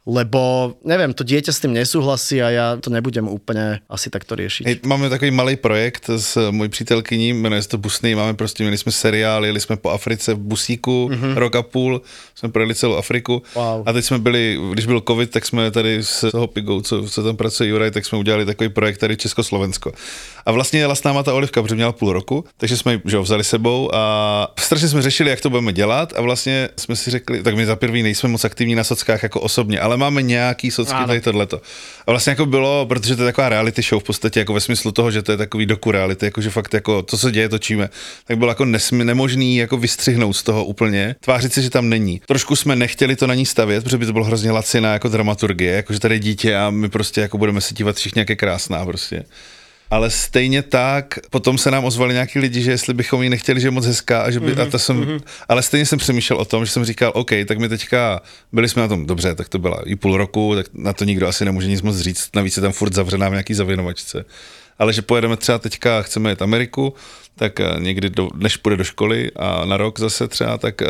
lebo neviem, to dieťa s tým nesúhlasí a ja to nebudem úplne asi takto riešiť. Hej, máme takový malý projekt s mojí přítelkyní, jmenuje se to Busný, měli jsme seriál, jeli jsme po Africe v busíku, rok a půl, jsme projeli celou Afriku. Wow. A teď jsme byli, když byl covid, tak jsme tady s toho Pigou, co tam pracuje Juraj, tak jsme udělali takový projekt tady Československo. A vlastně jela s náma ta Olivka, protože měla půl roku, takže jsme ji vzali sebou a strašně jsme řešili, jak to budeme dělat a vlastně jsme si řekli, tak my za první nejsme moc aktivní na sockách jako osobně, ale máme nějaký socky tady tohleto. A vlastně jako bylo, protože to je taková reality show v podstatě, jako ve smyslu toho, že to je takový doku reality, jakože fakt jako to, co děje, točíme, tak bylo jako nemožný jako vystřihnout z toho úplně, tvářit si, že tam není. Trošku jsme nechtěli to na ní stavět, protože by to bylo hrozně laciná jako dramaturgie, jakože tady dítě a my prostě jako budeme se dívat všichni, jak je krásná prostě. Ale stejně tak, potom se nám ozvali nějaký lidi, že jestli bychom ji nechtěli, že je moc hezká, a že by, ale stejně jsem přemýšlel o tom, že jsem říkal, OK, tak my teďka byli jsme na tom dobře, tak to byla i půl roku, tak na to nikdo asi nemůže nic moc říct, navíc je tam furt zavřená v nějaký zavěnovačce. Ale že pojedeme třeba teďka, chceme jet Ameriku, tak někdy, než půjde do školy a na rok zase třeba, tak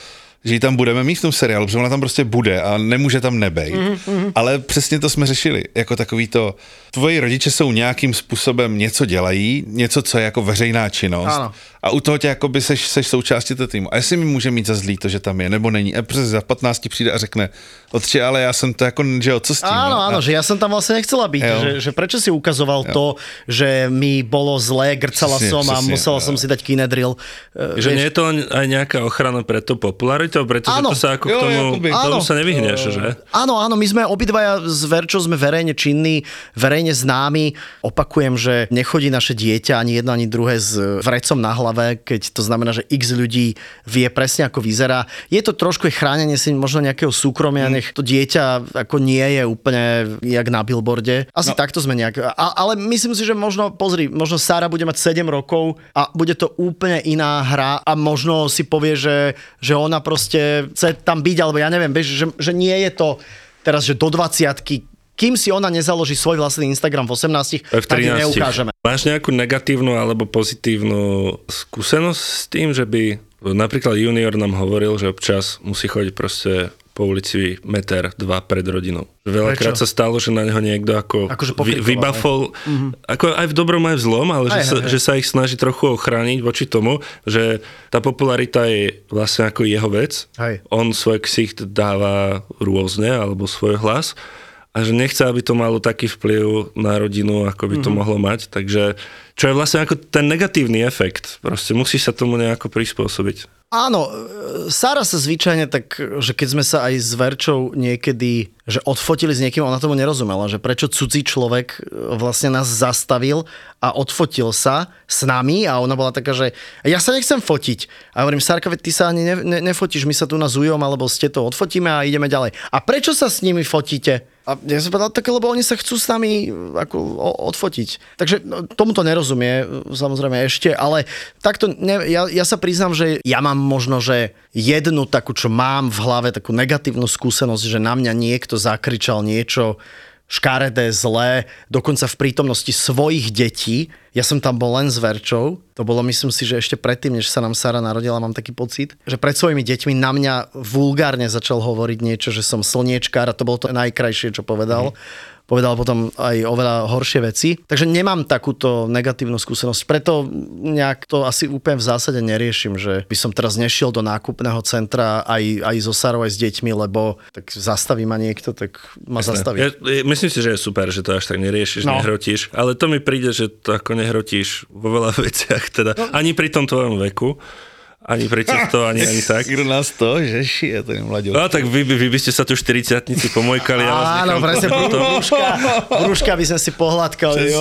že ji tam budeme mít v tom seriálu, protože ona tam prostě bude a nemůže tam nebejt. Ale přesně to jsme řešili, jako takový to, tvoji rodiče jsou nějakým způsobem něco dělají, něco, co je jako veřejná činnost. Ano. A u toho tě jakoby seš součástí toho týmu. A jestli mi může mít za zlý to, že tam je, nebo není. A přes za 15 přijde a řekne, otče, ale já jsem to jako, že co s tím? Áno, že ja som tam vlastne nechcela byť. Že prečo si ukazoval to, že mi bolo zlé, grcala som a musela som si dať Kinedril. Že nie je to aj nejaká ochrana pred tou popularitou, pretože to sa ako k tomu sa nevyhneš, že? Áno, my sme obidvaja s Verčou sme verejne činní, verejne známi. Opakujem, že nechodí naše dieťa ani jedno, ani druhé s vrecom na hlave hlave, keď to znamená, že x ľudí vie presne, ako vyzerá. Je to trošku chránenie si možno nejakého súkromia, nech to dieťa ako nie je úplne jak na billboarde. Asi takto sme nejak... Ale myslím si, že možno Sára bude mať 7 rokov a bude to úplne iná hra a možno si povie, že ona proste chce tam byť, alebo ja neviem, že nie je to teraz, že do 20-ky, kým si ona nezaloží svoj vlastný Instagram v 18, tak ju neukážeme. Máš nejakú negatívnu alebo pozitívnu skúsenosť s tým, že by napríklad junior nám hovoril, že občas musí chodiť proste po ulici 1-2 metra pred rodinou. Veľakrát sa stalo, že na neho niekto akože vybafol, ako aj v dobrom, aj v zlom, ale že sa ich snaží trochu ochrániť voči tomu, že tá popularita je vlastne ako jeho vec. On svoj ksicht dáva rôzne, alebo svoj hlas a že nechce, aby to malo taký vplyv na rodinu, ako by to mohlo mať. Takže čo je vlastne ako ten negatívny efekt. Proste musí sa tomu nejako prispôsobiť. Áno, Sára sa zvyčajne tak, že keď sme sa aj s Verčou niekedy, že odfotili s niekým, ona tomu nerozumela, že prečo cudzí človek vlastne nás zastavil a odfotil sa s nami a ona bola taká, že ja sa nechcem fotiť. A hovorím, Sárka, veď ty sa ani nefotíš, my sa tu na Zujom, alebo ste to odfotíme a ideme ďalej. A prečo sa s nimi fotíte? A ja som povedal, tak lebo oni sa chcú s nami ako odfotiť. Takže tomuto nerozumie, samozrejme ešte, ale takto, ja sa priznám, že ja mám možno, že jednu takú, čo mám v hlave, takú negatívnu skúsenosť, že na mňa niekto zakričal niečo škaredé, zlé, dokonca v prítomnosti svojich detí. Ja som tam bol len s Verčou. To bolo, myslím si, že ešte predtým, než sa nám Sára narodila, mám taký pocit, že pred svojimi deťmi na mňa vulgárne začal hovoriť niečo, že som slniečkár a to bolo to najkrajšie, čo povedal. Povedal potom aj oveľa horšie veci. Takže nemám takúto negatívnu skúsenosť. Preto nejak to asi úplne v zásade neriešim, že by som teraz nešiel do nákupného centra aj so Sárou, aj s deťmi, lebo tak zastaví ma niekto, tak ma zastaví. Myslím si, že je super, že to až tak neriešiš, nehrotíš, ale to mi príde, že to ako nehrotíš vo veľa veciach, teda ani pri tom tvojom veku. Ani pri týchto, ani tak. Kdo nás to, že šije ten mladík. No tak vy by ste sa tu 40-tnici pomojkali. Áno, presne, brúška by sme si pohľadkali.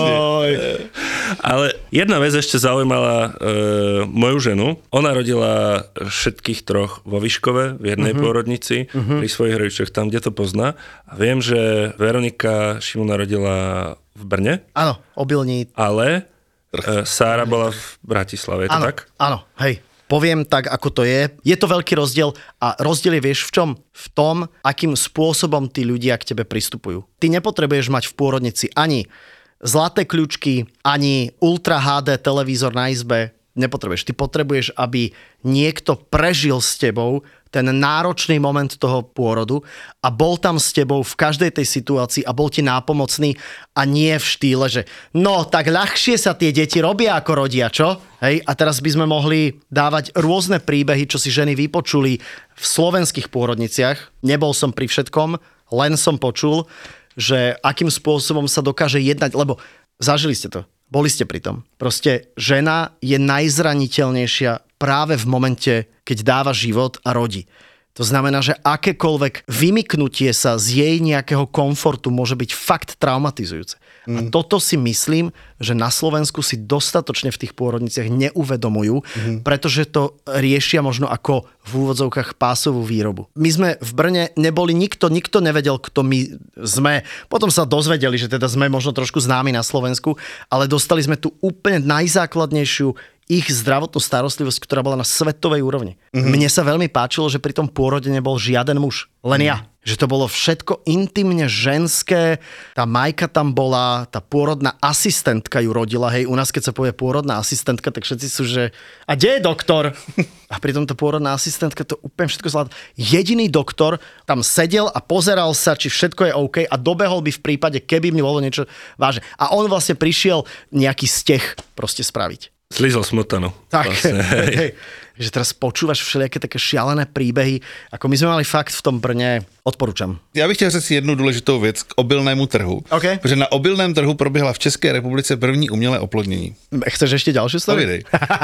Ale jedna vec ešte zaujímala moju ženu. Ona rodila všetkých troch vo Vyškove, v jednej pôrodnici, pri svojich rodičoch, tam, kde to pozná. A viem, že Veronika Šimona rodila v Brne. Áno, Obilní. Ale Sára bola v Bratislave, je to tak? Áno, hej. Poviem tak, ako to je. Je to veľký rozdiel a rozdiel je, vieš, v čom? V tom, akým spôsobom tí ľudia k tebe pristupujú. Ty nepotrebuješ mať v pôrodnici ani zlaté kľúčky, ani Ultra HD televízor na izbe. Nepotrebuješ. Ty potrebuješ, aby niekto prežil s tebou ten náročný moment toho pôrodu a bol tam s tebou v každej tej situácii a bol ti nápomocný a nie v štýle, že no, tak ľahšie sa tie deti robia ako rodia, čo? Hej? A teraz by sme mohli dávať rôzne príbehy, čo si ženy vypočuli v slovenských pôrodniciach. Nebol som pri všetkom, len som počul, že akým spôsobom sa dokáže jednať, lebo zažili ste to. Boli ste pri tom. Proste žena je najzraniteľnejšia práve v momente, keď dáva život a rodí. To znamená, že akékoľvek vymyknutie sa z jej nejakého komfortu môže byť fakt traumatizujúce. A toto si myslím, že na Slovensku si dostatočne v tých pôrodniciach neuvedomujú, pretože to riešia možno ako v úvodzovkách pásovú výrobu. My sme v Brne neboli nikto nevedel, kto my sme. Potom sa dozvedeli, že teda sme možno trošku známi na Slovensku, ale dostali sme tu úplne najzákladnejšiu ich zdravotnú starostlivosť, ktorá bola na svetovej úrovni. Mne sa veľmi páčilo, že pri tom pôrode nebol žiaden muž, len ja. Že to bolo všetko intimne ženské, tá Majka tam bola, tá pôrodná asistentka ju rodila, hej, u nás keď sa povie pôrodná asistentka, tak všetci sú, že a kde je doktor? A pritom tá pôrodná asistentka to úplne všetko zvládla. Jediný doktor tam sedel a pozeral sa, či všetko je OK a dobehol by v prípade, keby mi bolo niečo vážne. A on vlastne prišiel nejaký steh proste spraviť. Slízol smotanu. Tak, vlastne, hej. Že teraz počúvaš všelijaké také šialené príbehy, ako my sme mali fakt v tom Brně, odporúčam. Já bych chtěl říct jednu důležitou věc k obilnému trhu. Okay. Protože na obilném trhu proběhla v České republice první umělé oplodnění. Chceš ešte ďalšiu story? Povídej.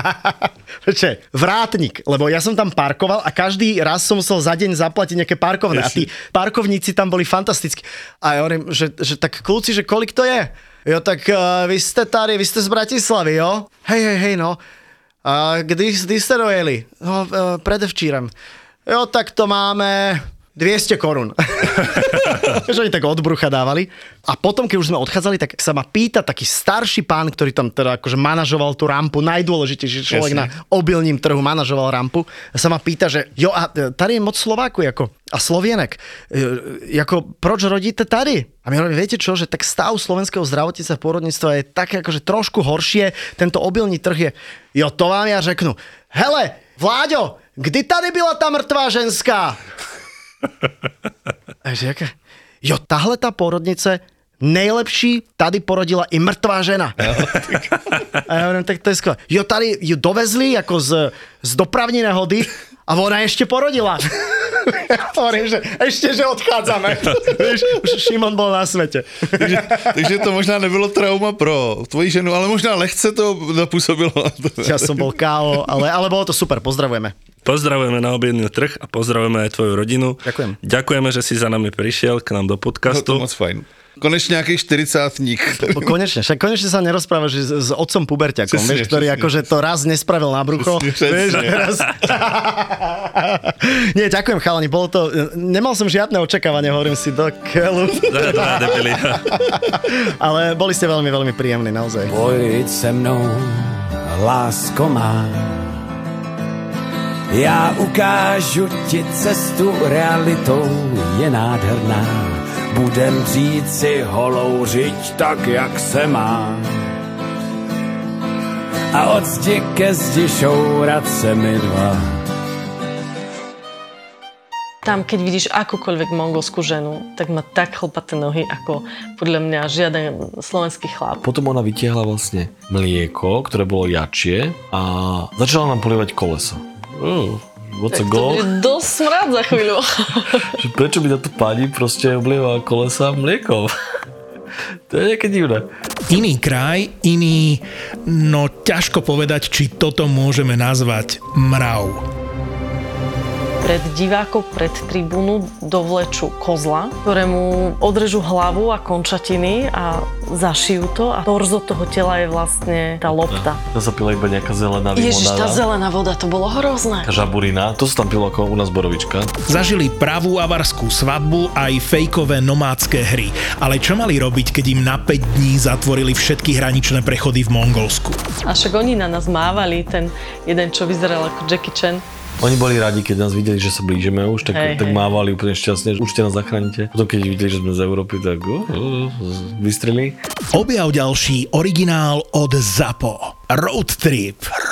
Vrátnik, lebo ja som tam parkoval a každý raz som musel za deň zaplatiť nejaké parkovné a tí parkovníci tam boli fantastickí. A ja hovorím, že tak kľúci, že kolik to je? Jo, tak vy ste z Bratislavy, jo? Hej, no. A kdy ste dojeli? No, predevčírem. Jo, tak to máme 200 korún. Že oni tak od brucha dávali. A potom, keď už sme odchádzali, tak sa ma pýta taký starší pán, ktorý tam teda akože manažoval tú rampu, najdôležitejší človek na obilním trhu manažoval rampu. A sa ma pýta, že jo, a tady je moc Slováku, jako, a Slovienek. Jako, proč rodíte tady? A my hovoríme, viete čo, že tak stav slovenského zdravotníctva a pôrodníctva je tak akože trošku horšie, tento obilný trh je, jo, to vám ja řeknu. Hele, Vláďo, kdy tady byla ta mrtvá ženská? Jo, tahle ta porodnice nejlepší, tady porodila i mrtvá žena. A ja hovorím, tak to je skvělé. Jo, tady ju dovezli jako z dopravní nehody a ona ještě porodila. Ja hovorím, že ešte, že odchádzame. Už Šimon bol na svete. Takže to možná nebylo trauma pro tvoji ženu, ale možná lehce to napůsobilo. Ja som bol KO, ale bolo to super, pozdravujeme. Pozdravujeme na obilný trh a pozdravujeme aj tvoju rodinu. Ďakujem. Ďakujeme, že si za nami prišiel k nám do podcastu. No, to moc fajn. Konečne nejaký 40-tník. Konečne sa nerozprávaš s otcom puberťakom, vieš, ktorý akože to raz nespravil na brucho. Vieš, raz... Nie, ďakujem chalani, bolo to... Nemal som žiadne očakávanie, hovorím si do keľu. Ale boli ste veľmi, veľmi príjemní, naozaj. Pojď se mnou, lásko má. Já ukážu ti cestu, realitou je nádherná. Budem dřít si holou řiď tak, jak se má. A od zdi ke zdi šourat se mi dva. Tam, keď vidíš akúkoľvek mongolskú ženu, tak má tak chlpaté nohy, ako podľa mňa žiaden slovenský chlap. Potom ona vytiahla vlastne mlieko, ktoré bolo jačie a začala nám polievať kolesa. What's a goal? To bude dosť smrad za chvíľu. Prečo by táto pani proste oblieva kolesa mliekom? To je nejaké divné. Iný kraj, no ťažko povedať, či toto môžeme nazvať mrav. Pred divákov, pred tribúnu dovlečú kozla, ktorému odrežú hlavu a končatiny a zašijú to a torzo toho tela je vlastne tá lopta. To sa pila iba nejaká zelená limonáda. Ježiš, tá zelená voda, to bolo hrozné. Žaburina, to sa tam pilo ako u nás borovička. Zažili pravú avarskú svadbu aj fejkové nomádske hry. Ale čo mali robiť, keď im na 5 dní zatvorili všetky hraničné prechody v Mongolsku? A však oni na nás mávali, ten jeden, čo vyzeral ako Jackie Chan. Oni boli radi, keď nás videli, že sa blížime už, tak mávali úplne šťastne, že určite nás zachránite. Potom keď videli, že sme z Európy, tak vystrelili. Objav ďalší originál od ZAPO. Road Trip.